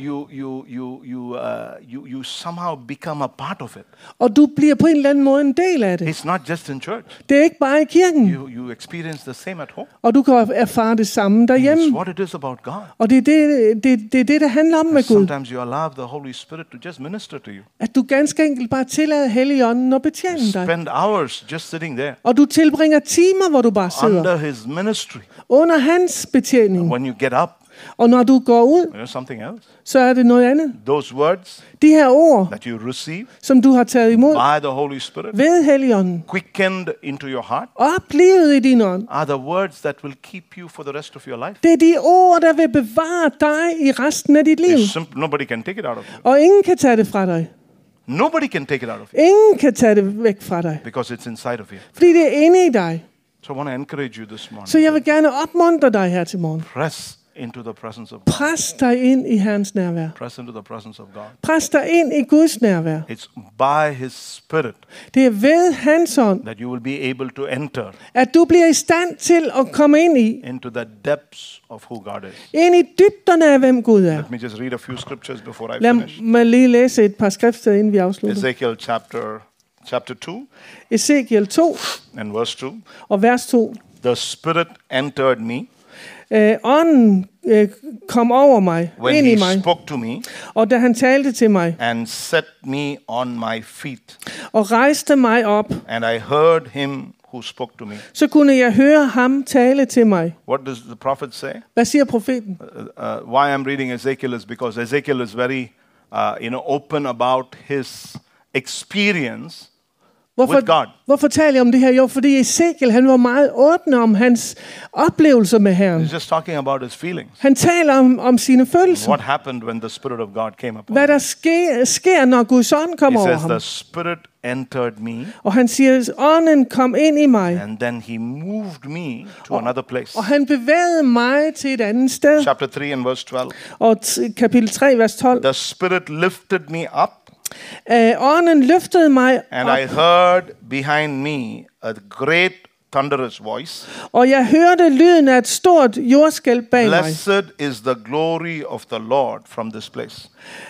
You somehow become a part of it. Og du bliver på en eller anden måde en del af det. It's not just in church. Det er ikke bare i kirken. You experience the same at home. Og du kan erfare det samme It's derhjemme. what it is about God. Og det er det, der handler om med Gud. Sometimes you allow the Holy Spirit to just minister to you. At du ganske enkelt bare tillader Helligånden at betjene dig. Spend hours just sitting there Og du tilbringer timer, hvor du bare sidder under His ministry. under hans betjening. When you get up, Og når du går ud, there's something else. så er det noget andet. Those words De her ord, that you receive som du har taget imod by the Holy Spirit, ved Helligånden, quickened into your heart, oplivet i din ånd, are the words that will keep you for the rest of your life. det er de ord, der vil bevare dig i resten af dit liv. Nobody can take it out of you. Og ingen kan tage det fra dig. Nobody can take it out of you Ingen kan tage det væk fra dig. because it's inside of you. Fordi det er inde i dig. So I want to encourage you this Så morning. jeg vil gerne opmuntre dig her til morgen. Press into the presence of God. Pres dig ind i Herrens nærvær. Press into the presence of God. Pres dig ind i Guds nærvær. It's by His Spirit Det er ved hans ånd, that you will be able to enter at du bliver i stand til at komme ind into the depths of who God is. ind i dybderne af, hvem Gud er. Let me just read a few scriptures before I Lad finish. mig lige læse et par skriftsteder, inden vi afslutter. Ezekiel chapter 2 Ezekiel 2 and verse 2. og vers 2. The Spirit entered me Ånden kom over mig, when ind i He mig, spoke to me og da han talte til mig, and set me on my feet. og rejste mig op, And I heard Him who spoke to me. så kunne jeg høre ham tale til mig. What does the prophet say? Hvad siger profeten? Why I'm reading Ezekiel is because Ezekiel is very, open about his experience with God. Hvorfor taler jeg om det her? Jo, fordi Ezekiel, han var meget åben om hans oplevelser med Herren. He's just talking about his feelings. Han taler om sine følelser. What happened when the Spirit of God came upon Hvad him? der sker, når Guds ånd kommer He over says, ham. the Spirit entered me, Og han siger, ånden kom ind i mig. and then he moved me to another place. Og han bevægede mig til et andet sted. Chapter 3 and verse 12. Og kapitel 3, vers 12. The Spirit lifted me up, Ånden løftede mig and op, I heard behind me a great thunderous voice. og jeg hørte lyden af et stort jordskælv bag mig. Blessed is the glory of the Lord from this place.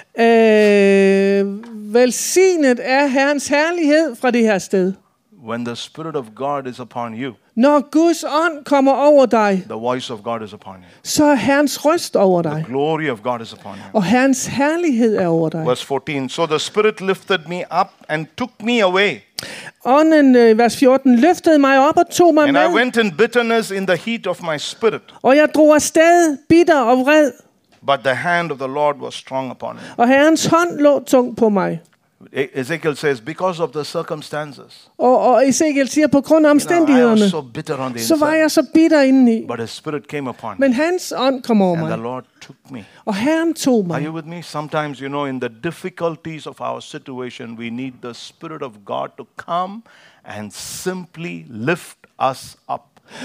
Velsignet er Herrens herlighed fra det her sted. When the Spirit of God is upon you, Når Guds ånd kommer over dig, the voice of God is upon you. så er Herrens røst over dig, The glory of God is upon you. og Herrens herlighed er over dig. Verse 14. So the Spirit lifted me up and took me away. Ånden, vers 14, løftede mig op og tog mig And I med, went in bitterness in the heat of my spirit. og jeg drog afsted bitter og vred, But the hand of the Lord was strong upon me. og Herrens hånd lå tungt på mig. Ezekiel says, because of the circumstances, Og Ezekiel siger, på grund af I omstændighederne, was so bitter on the så var inside. jeg så bitter indeni. But His Spirit came upon me, Men hans ånd kom over and the mig, Lord took me. og Herren tog Are mig. you with me? Sometimes, in the difficulties of our situation, we need the Spirit of God to come and simply lift us up.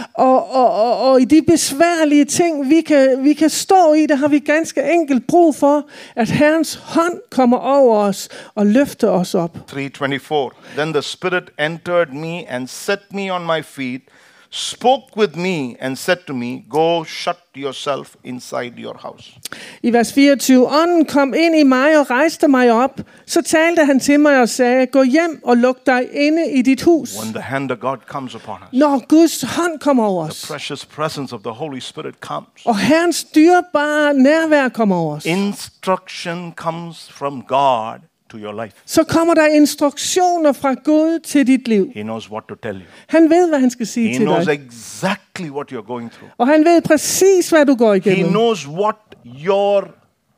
Og i de besværlige ting, vi kan stå i, der har vi ganske enkelt brug for, at Herrens hånd kommer over os og løfter os op. 3:24. Then the Spirit entered me and set me on my feet, spoke with me and said to me, go shut yourself inside your house. I vers 24, ånden kom ind i mig og rejste mig op. Så talte han til mig og sagde, gå hjem og luk dig inde i dit hus. When the hand of God comes upon us, Når Guds hånd kommer over os, the precious presence of the Holy Spirit comes. og Herrens dyrebare nærvær kommer over os, Instruction comes from God to your life. så kommer der instruktioner fra Gud til dit liv. He knows what to tell you. Han ved, hvad han skal sige He til knows dig. exactly what you're going through. Og han ved præcis, hvad du går He igennem. knows what your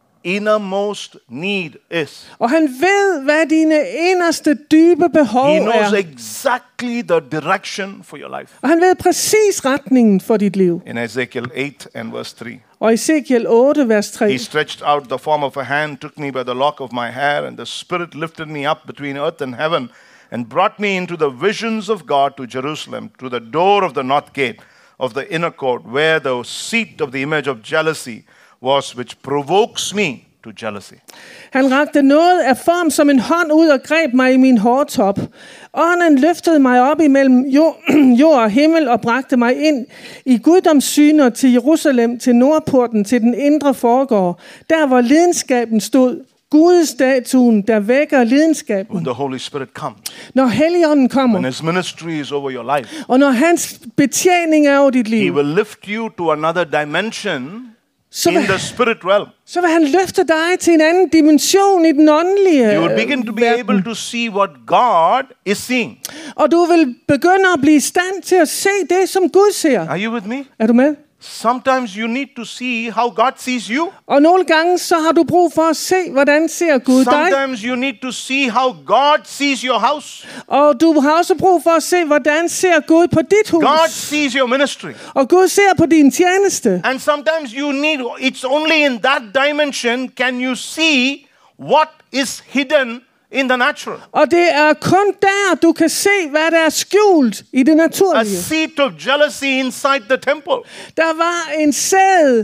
innermost need is. Og han ved, hvad dine inderste dybe behov He knows er. exactly the direction for your life. Og han ved præcis retningen for dit liv. In Ezekiel 8 and verse 3, Og Ezekiel 8, vers 3. He stretched out the form of a hand, took me by the lock of my hair, and the Spirit lifted me up between earth and heaven, and brought me into the visions of God to Jerusalem, to the door of the north gate of the inner court, where the seat of the image of jealousy was, which provokes me to jealousy. Han rakte noget af form som en hånd ud og greb mig i min hårtop. Ånden løftede mig op imellem jord og himmel og bragte mig ind i guddomssyner til Jerusalem, til nordporten, til den indre forgård. Der hvor lidenskaben stod, Gudstatuen, der vækker lidenskaben. When the Holy Spirit comes, Når Helligånden kommer, when His ministry is over your life, og når hans betjening er over dit He liv, will lift you to another dimension så in vil, the spirit realm. så vil han løfte dig til en anden dimension i den åndelige You will begin to be verden. able to see what God is seeing. Og du vil begynde at blive i stand til at se det, som Gud ser. Are you with me? Er du med? Sometimes you need to see how God sees you. Og nogle gange så har du brug for at se, hvordan ser Gud dig. Sometimes you need to see how God sees your house. Og du har også brug for at se, hvordan ser Gud på dit hus. God sees your ministry. Og Gud ser på din tjeneste. And sometimes you need, it's only in that dimension can you see what is hidden in the natural. Og det er kun der, du kan se, hvad der er skjult i det A naturlige. seat of jealousy inside the temple. Der var en sæd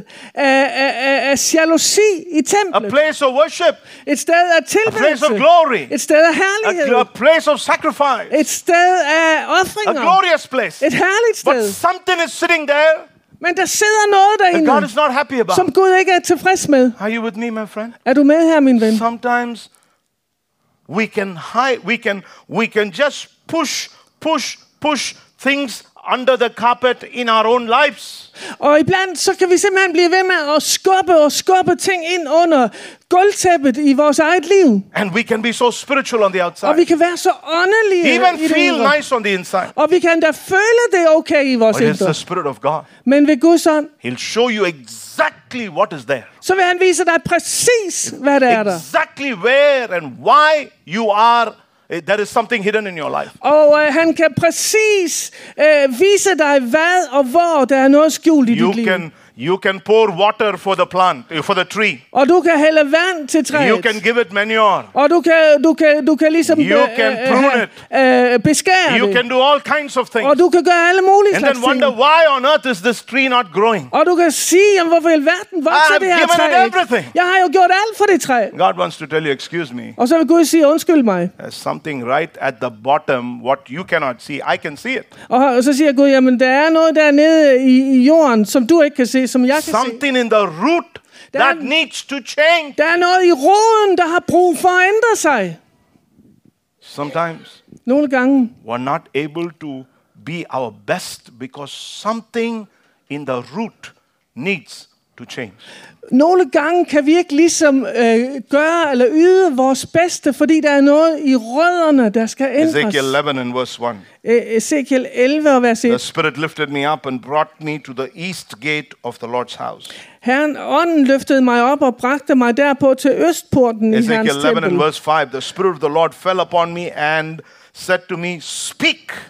af jalousi i A templet. place of worship. Et sted af A place of tilbedelse. glory. Et sted af herlighed. A place of sacrifice. Et sted af A ofringer. glorious place. Et herligt But sted. something is sitting there Men der sidder noget that God derinde, is not happy about. som Gud ikke er tilfreds med. Are you with me, my friend? Er du med her, min ven? Sometimes we can hide, we can just push things under the carpet in our own lives. Og iblandt så kan vi simpelthen blive ved med at skubbe ting ind under gulvtæppet i vores eget liv. And we can be so spiritual on the Og outside. vi kan være så åndelige Even i det feel ydre. nice on the inside. Og vi kan da føle det okay i vores But it's indre. the Spirit of God. Men ved Guds ånd, He'll show you exactly what is there. så vil han vise dig præcis, hvad der er der. Exactly where and why you are there is something hidden in your life. Og han kan præcis vise dig, hvad og hvor der er noget skjult i dit liv. You can pour water for the plant, for the tree. Og du kan hælde vand til træet. You can give it manure. Og du kan ligesom beskære det. You can do all kinds of things. Og du kan gøre alle mulige slags ting. And then wonder, why on earth is this tree not growing? Og du kan sige, hvorfor i alverden vokser det her træ? Jeg har jo gjort alt for det træ. God wants to tell you, excuse me. Og så vil Gud sige, undskyld mig. There's something right at the bottom, what you cannot see. I can see it. Og så siger Gud, jamen der er noget dernede i jorden, som du ikke kan se, som jeg kan se. Something in the root that needs to change. Der er noget i roden, der har brug for at ændre sig. Sometimes nogle gange we're not able to be our best because something in the root needs to change. Nogle gange kan vi ikke ligesom gøre eller yde vores bedste, fordi der er noget i rødderne, der skal ændres. Ezekiel 11 and verse 1. Ezekiel 11 og vers 1. The Spirit lifted me up and brought me to the east gate of the Lord's house. Herren, ånden løftede mig op og bragte mig derpå til østporten i Herrens tempel. Ezekiel 11 and verse 5. The Spirit of the Lord fell upon me and said to me, speak.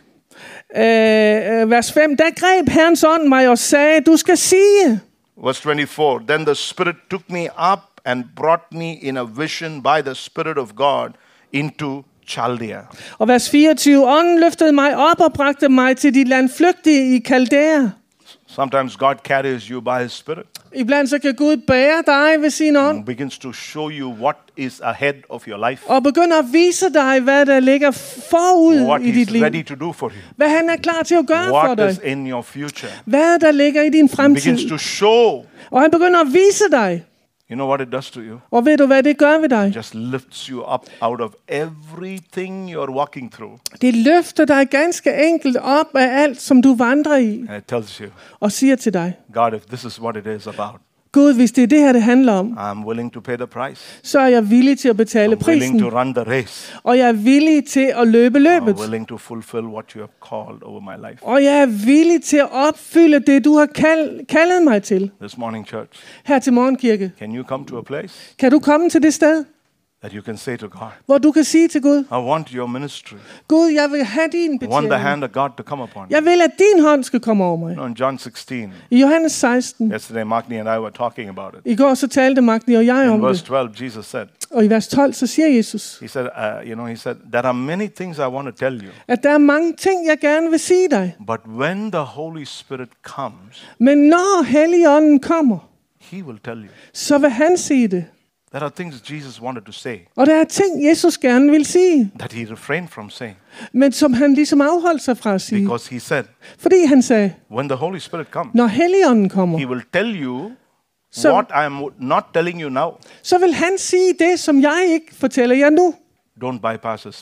Vers 5. Der greb Herrens ånd mig og sagde, du skal sige. Verse 24, then the Spirit took me up and brought me in a vision by the Spirit of God into Chaldea. Og vers 24, ånden løftede mig op og bragte mig til de landflygtige i Kaldæa. Sometimes God carries you by His Spirit. Iblandt så kan Gud bære dig ved sin ånd. And begins to show you what is ahead of your life. Og begynder at vise dig, hvad der ligger forud i dit liv. What He's ready to do for you. Hvad han er klar til at gøre for dig. What is in your future. Hvad der ligger i din fremtid. Begins to show. Og han begynder at vise dig. You know what it does to you? Og ved du, hvad det gør ved dig? It just lifts you up out of everything you're walking through. Det løfter dig ganske enkelt op af alt, som du vandrer i. And it tells you. Og siger til dig. God, if this is what it is about. Gud, hvis det er det her, det handler om, I'm willing to pay the price. Så er jeg villig til at betale prisen. Willing to run the race. Og jeg er villig til at løbe løbet. I'm willing to fulfill what you have called over my life. Og jeg er villig til at opfylde det, du har kaldet mig til. This morning, church. Her til morgenkirke. Can you come to a place? Kan du komme til det sted? That you can say to God. Hvor du kan sige til Gud. I want your ministry. Gud, jeg vil have din betjening. I want the hand of God to come upon me. Jeg vil, at din hånd skal komme over mig. In John 16. I Johannes 16. Yesterday, Magni and I were talking about it. I går så talte Magni og jeg om det. In verse 12, Jesus said. Og i vers 12 så siger Jesus. He said, he said, there are many things I want to tell you. At der er mange ting, jeg gerne vil sige dig. But when the Holy Spirit comes. Men når Helligånden kommer. He will tell you. Så vil han sige det. There are things Jesus wanted to say. Og der er ting, Jesus gerne vil sige. That he refrained from saying. Men som han ligesom afholdt sig fra at sige. Because he said. Fordi han sagde. When the Holy Spirit comes. Når Helligånden kommer. He will tell you what I am not telling you now. Så vil han sige det, som jeg ikke fortæller jer nu. Don't bypass His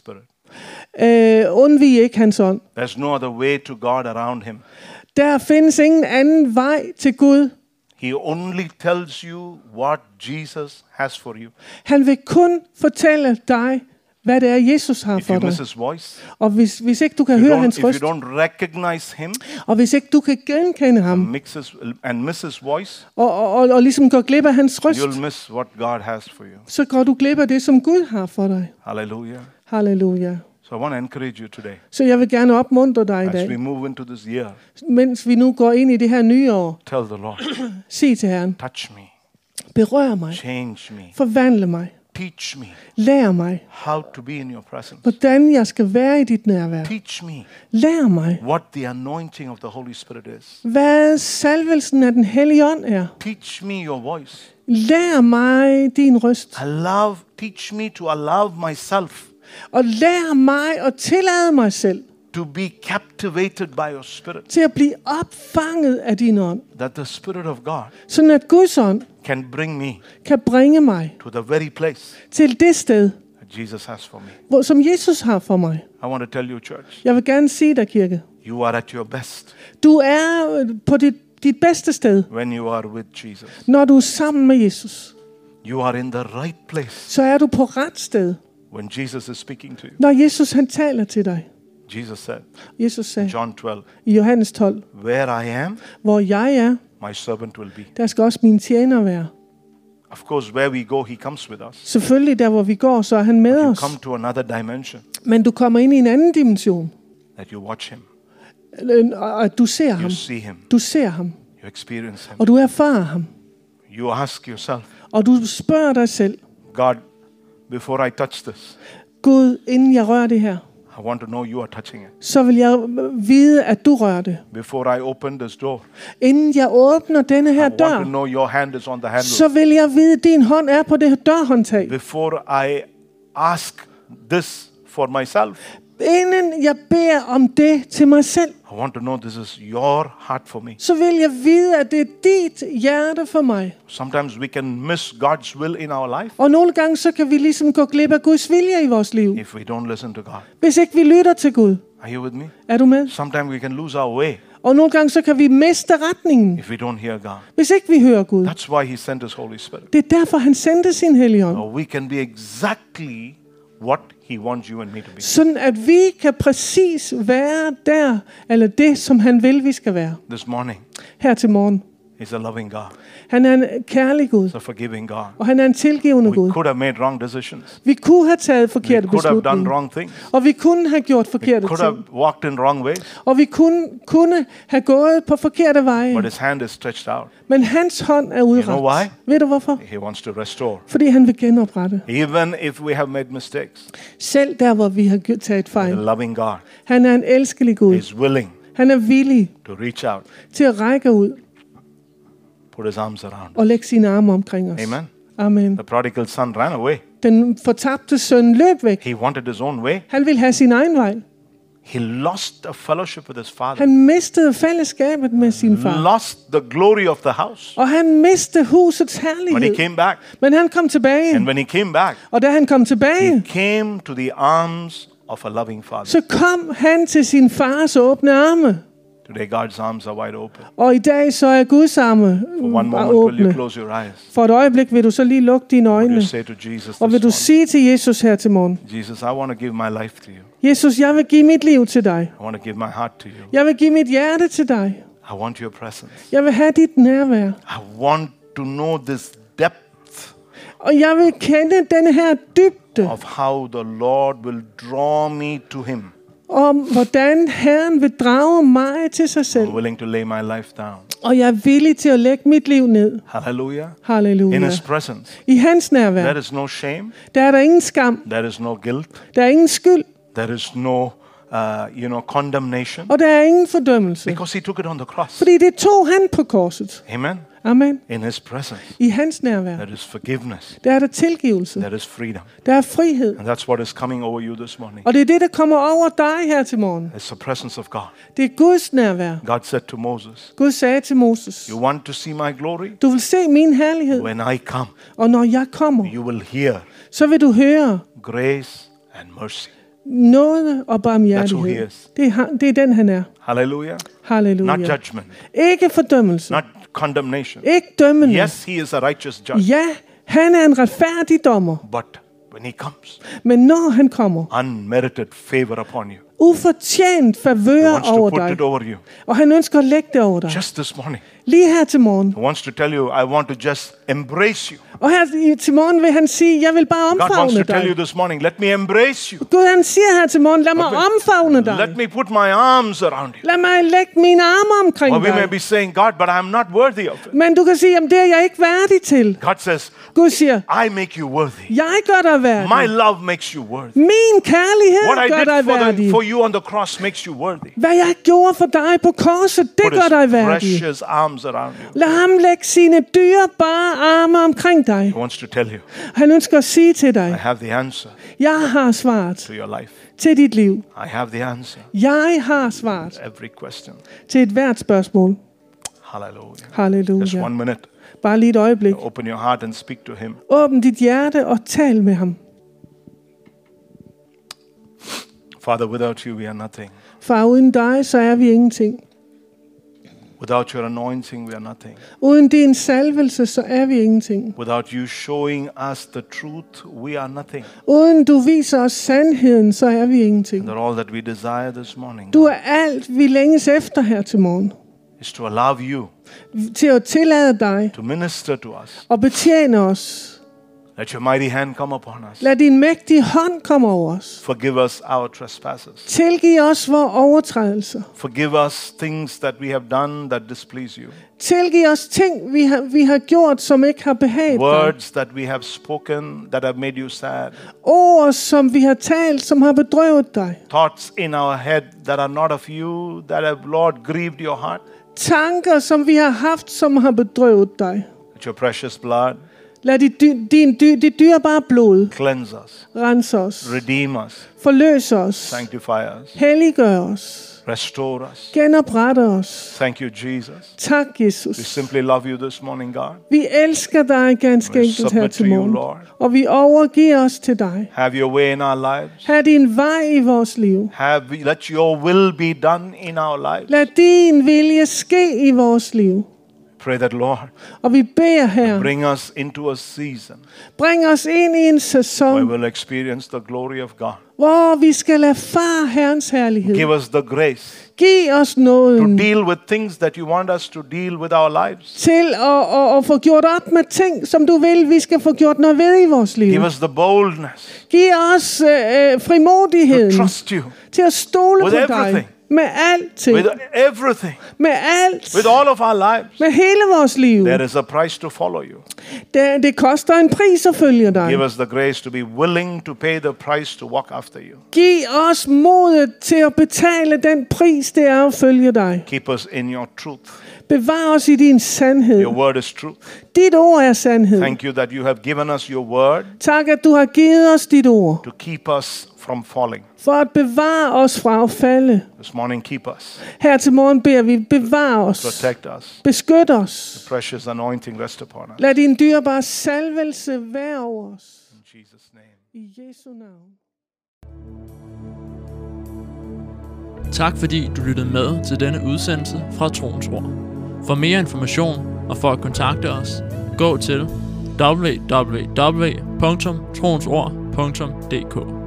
Spirit. Undvig ikke hans ånd. There's no other way to God around him. Der findes ingen anden vej til Gud. He only tells you what Jesus has for you. Han vil kun fortælle dig, hvad det er, Jesus har for dig. If you miss his voice, og hvis ikke du kan høre hans røst, if you don't recognize him, og hvis ikke du kan genkende ham, miss his voice, og ligesom går glip af hans røst, you'll miss what God has for you. Så går du glip af det, som Gud har for dig. Hallelujah. Halleluja. So I want to encourage you today. Så jeg vil gerne opmuntre dig i dag. As we move into this year, mens vi nu går ind i det her nye år, tell the Lord, sig til Herren, touch me, berør mig, change me, forvandle mig, teach me, lær mig, how to be in your presence, hvordan jeg skal være i dit nærvær, teach me, lær mig, what the anointing of the Holy Spirit is, hvad salvelsen af den hellige ånd er, teach me your voice, lær mig din røst, teach me to allow myself, og lær mig at tillade mig selv to be captivated by your spirit. Til at blive opfanget af din ånd. That the Spirit of God sådan at Guds ånd can bringe mig to the very place til det sted, that Jesus has for me. Som Jesus har for mig. I want to tell you, church. Jeg vil gerne sige dig, kirke. You are at your best. Du er på dit bedste sted. When you are with Jesus. Når du er sammen med Jesus. You are in the right place. Så er du på ret sted. When Jesus is speaking to you. Når Jesus han taler til dig. Jesus said, John 12, i Johannes 12, where I am, hvor jeg er, my servant will be. Der skal også mine tjenere være. Of course, where we go, he comes with us. Selvfølgelig, der hvor vi går, så er han med You os. come to another dimension, Men du kommer ind i en anden dimension. that you watch him, Og at du ser you ham. see him, Du ser ham. you experience him. Og du erfarer ham. You ask yourself, Og du spørger dig selv, God, before I touch this, Gud, inden jeg rører det her, I want to know you are touching it. så vil jeg vide, at du rører det. Before I open this door, Inden jeg åbner denne I her want to dør, know your hand is on the handle. så vil jeg vide, at din hånd er på det dørhåndtag. Before I ask this for myself, Inden jeg beder om det til mig selv, I want to know this is your heart for me. så vil jeg vide, at det er dit hjerte for mig. Sometimes we can miss God's will in our life Og nogle gange, så kan vi ligesom gå glip af Guds vilje i vores liv, if we don't listen to God. hvis ikke vi lytter til Gud. Are you with me? Er du med? Sometimes we can lose our way Og nogle gange, så kan vi miste retningen, if we don't hear God. hvis ikke vi hører Gud. That's why He sent His Holy Spirit. Det er derfor, han sendte sin hellige ånd. So we can be exactly what He wants you and me to be. Sådan at vi kan præcis være der, eller det, som han vil, vi skal være. This morning, Her til morgen. He's a loving God. Han er en kærlig Gud, He's a forgiving God. og han er en tilgivende We Gud. could have made wrong decisions. Vi kunne have taget We forkerte could have done beslutninger, wrong things. og vi kunne have gjort We forkerte could have ting, walked in wrong ways. og vi kunne have gået på forkerte veje. But His hand is stretched out. Men hans hånd er know why? udrakt. Ved du hvorfor? He wants to restore. Fordi han vil genoprette. Even if we have made mistakes, Selv der, hvor vi har taget the fejl. loving God Han er en elskelig Gud. is willing Han er villig to reach out, til at række ud put His arms around us. og lægge sine arme omkring os. Amen. Amen. The prodigal son ran away. Den fortabte søn løb væk. He wanted his own way. Han ville have sin egen vej. He lost a fellowship with his father. Han mistede fællesskabet med sin far. Lost the glory of the house. Og han mistede husets When he herlighed. came back, Men han kom tilbage. and when he came back, Og da han kom he tilbage, came to the arms of a loving father. så kom han til sin fars åbne arme. Today, God's arms are wide open. Og i dag så er Guds arme For one bare moment, will you åbne. close your eyes? For et øjeblik vil du så lige lukke dine Will you øjne. say to Jesus Og vil du this sige til Jesus her til morgen: morning, Jesus, I want to give my life to you. Jesus, jeg vil give mit liv til dig. I want to give my heart to you. Jeg vil give mit hjerte til dig. I want your presence. Jeg vil have dit nærvær. I want to know this depth Og jeg vil kende denne her dybde of how the Lord will draw me to Him. om, hvordan Herren vil drage mig til sig selv. I'm willing to lay my life down. Og jeg er villig til at lægge mit liv ned. Hallelujah. In Halleluja. His presence, I hans nærvær, there is no shame. der er der ingen skam. There is no guilt. Der er ingen skyld. There is no, condemnation. Og der er ingen fordømmelse. Because He took it on the cross. Fordi det tog han på korset. Amen. Amen. In His presence, I hans nærvær, there is forgiveness. der er der tilgivelse. There is freedom. Der er frihed. And that's what is coming over you this morning. Og det er det, der kommer over dig her til morgen. It's the presence of God. Det er Guds nærvær. God said to Moses, Gud sagde til Moses: you want to see my glory? Du vil se min herlighed. When I come, Og når jeg kommer, you will hear så vil du høre grace and mercy. nåde og That's who he barmhjertighed. is. Det er den, han er. Hallelujah. Halleluja. Not judgment, Ikke fordømmelse. not condemnation. Ikke dømmende. Yes, He is a righteous judge. Ja, han er en retfærdig dommer. But when He comes, Men når han kommer, unmerited favor upon you. ufortjent He favør wants to over put dig. it over you. Og han ønsker at lægge det over dig. Just this morning, Lige her til morgen. He wants to tell you, I want to just embrace you. Og her til morgen vil han sige: jeg vil bare God wants to omfavne tell you dig. this morning, let me embrace you. Gud, han siger her til morgen: lad mig omfavne dig. Let me put my arms around you. Lad mig lægge mine arme omkring Or we may dig. be saying, God, but I'm not worthy of it. Men du kan sige: jamen det er jeg ikke værdig til. God says, Gud siger: I make you worthy. jeg gør dig My værdig. love makes you worthy. Min kærlighed What I gør dig did værdig. for you on the cross makes you worthy. Hvad jeg gjorde for dig på korset, det Put gør dig His værdig. precious arms around you. Lad ham lægge sine dyrebare arme omkring dig. He wants to tell you, Han ønsker at sige til I dig: have the answer jeg har svaret to your life. til dit liv. I have the answer Jeg har svaret to every question. til et hvert spørgsmål. Hallelujah. Just Halleluja. 1 minute. Bare lige et øjeblik. Open your heart and speak to Him. Åbn dit hjerte og tal med ham. Father, without you we are nothing. Far, uden dig, så er vi ingenting. Without your anointing we are nothing. Uden din salvelse, så er vi ingenting. Without you showing us the truth, we are nothing. Uden du viser os sandheden, så er vi ingenting. And that all that we desire this morning Du er alt, vi længes efter her til morgen. is to allow you til at tillade dig to minister to us. og betjene os. Let your mighty hand come upon us. Lad din mægtige hånd komme over os. Forgive us our trespasses. Tilgiv os vores overtrædelser. Forgive us things that we have done that displease you. Tilgiv os ting, vi har gjort, som ikke har behaget dig. Words that we have spoken that have made you sad. Ord, som vi har talt, som har bedrøvet dig. Thoughts in our head that are not of you, that have, Lord, grieved your heart. Tanker, som vi har haft, som har bedrøvet dig. Let your precious blood Lad dit dyrebare blod cleanse us, rense os, redeem us, forløse os, sanctify us, helliggør os, restore us. genoprette os. Thank you, Jesus. Tak, We Jesus. simply love you this morning, God. Vi elsker dig ganske We enkelt her submit til to you, morgen, Lord. og vi overgiver os til dig. Have your way in our lives. Have din vej i vores liv. Let your will be done in our lives. Lad din vilje ske i vores liv. Pray that, Lord, Og vi beder her, bring us into a season bring os ind i en where sæson, we'll experience the glory of God. hvor vi skal erfare Herrens herlighed. Give us the grace Giv os to nåden deal with things that you want us to deal with our lives. til at få gjort op med ting, som du vil, vi skal få gjort noget ved i vores liv. Give us the boldness Giv os to frimodigheden trust you til at stole with på dig everything. med alting, with everything, med alt, with all of our lives. med hele vores liv. There is a price to follow you. Det koster en pris at følge dig. Give us the grace to be willing to pay the price to walk after you. Giv os modet til at betale den pris, det er at følge dig. Keep us in your truth. Bevar os i din sandhed. Your word is truth. Dit ord er sandhed. Thank you that you have given us your word Tak, at du har givet os dit ord, to keep us from falling. for at bevare os fra at falde. This morning, keep us, Her til morgen beder vi, bevar os, protect us. beskyt os. Precious anointing rest upon us. Lad din dyrebare salvelse være over os. In Jesus' name. I Jesu navn. Tak fordi du lyttede med til denne udsendelse fra Troens Ord. For mere information og for at kontakte os, gå til www.troensord.dk.